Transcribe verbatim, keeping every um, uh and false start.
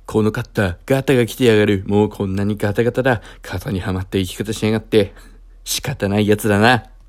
このカッター、ガタが来てやがる。もうこんなにガタガタだ。型にはまった生き方しやがって。仕方ないやつだな。